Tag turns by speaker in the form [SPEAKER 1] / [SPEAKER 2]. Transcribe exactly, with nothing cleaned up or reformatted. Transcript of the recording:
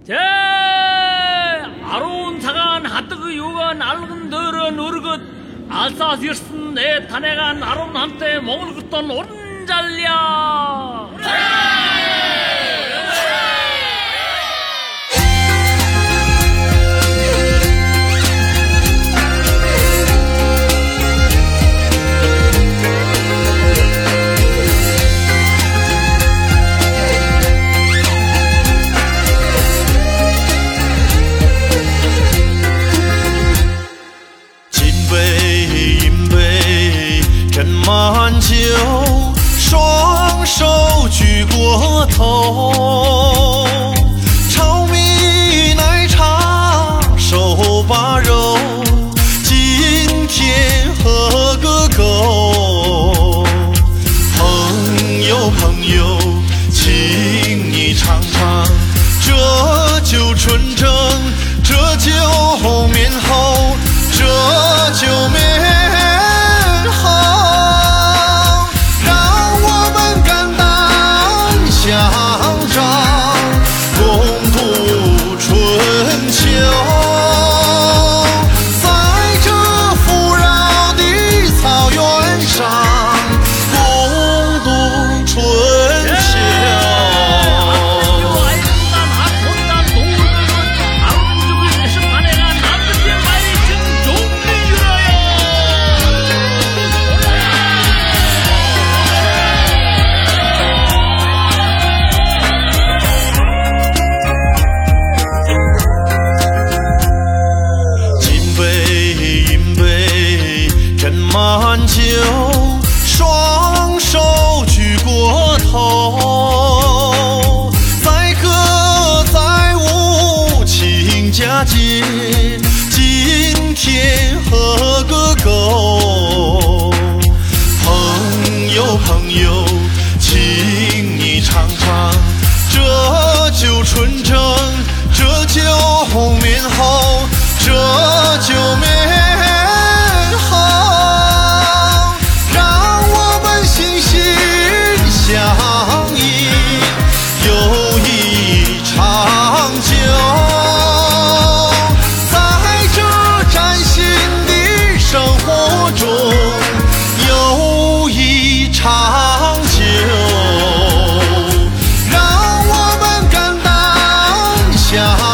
[SPEAKER 1] 제 아로운 사간 하뜨그 요간 알근 더런 어르긋 알사스였은 내 탄핵한 아로운 한때 먹을 것던 오른잘랴
[SPEAKER 2] 满酒，双手举过头，炒米奶茶手把肉，今天喝个够。朋友朋友，请你尝尝这酒纯正，这酒绵厚，这酒绵满酒，双手举过头，载歌载舞亲家节，今天喝个够。朋友朋友，请你尝尝这酒纯正，这酒绵厚，这酒绵长久，让我们肝胆相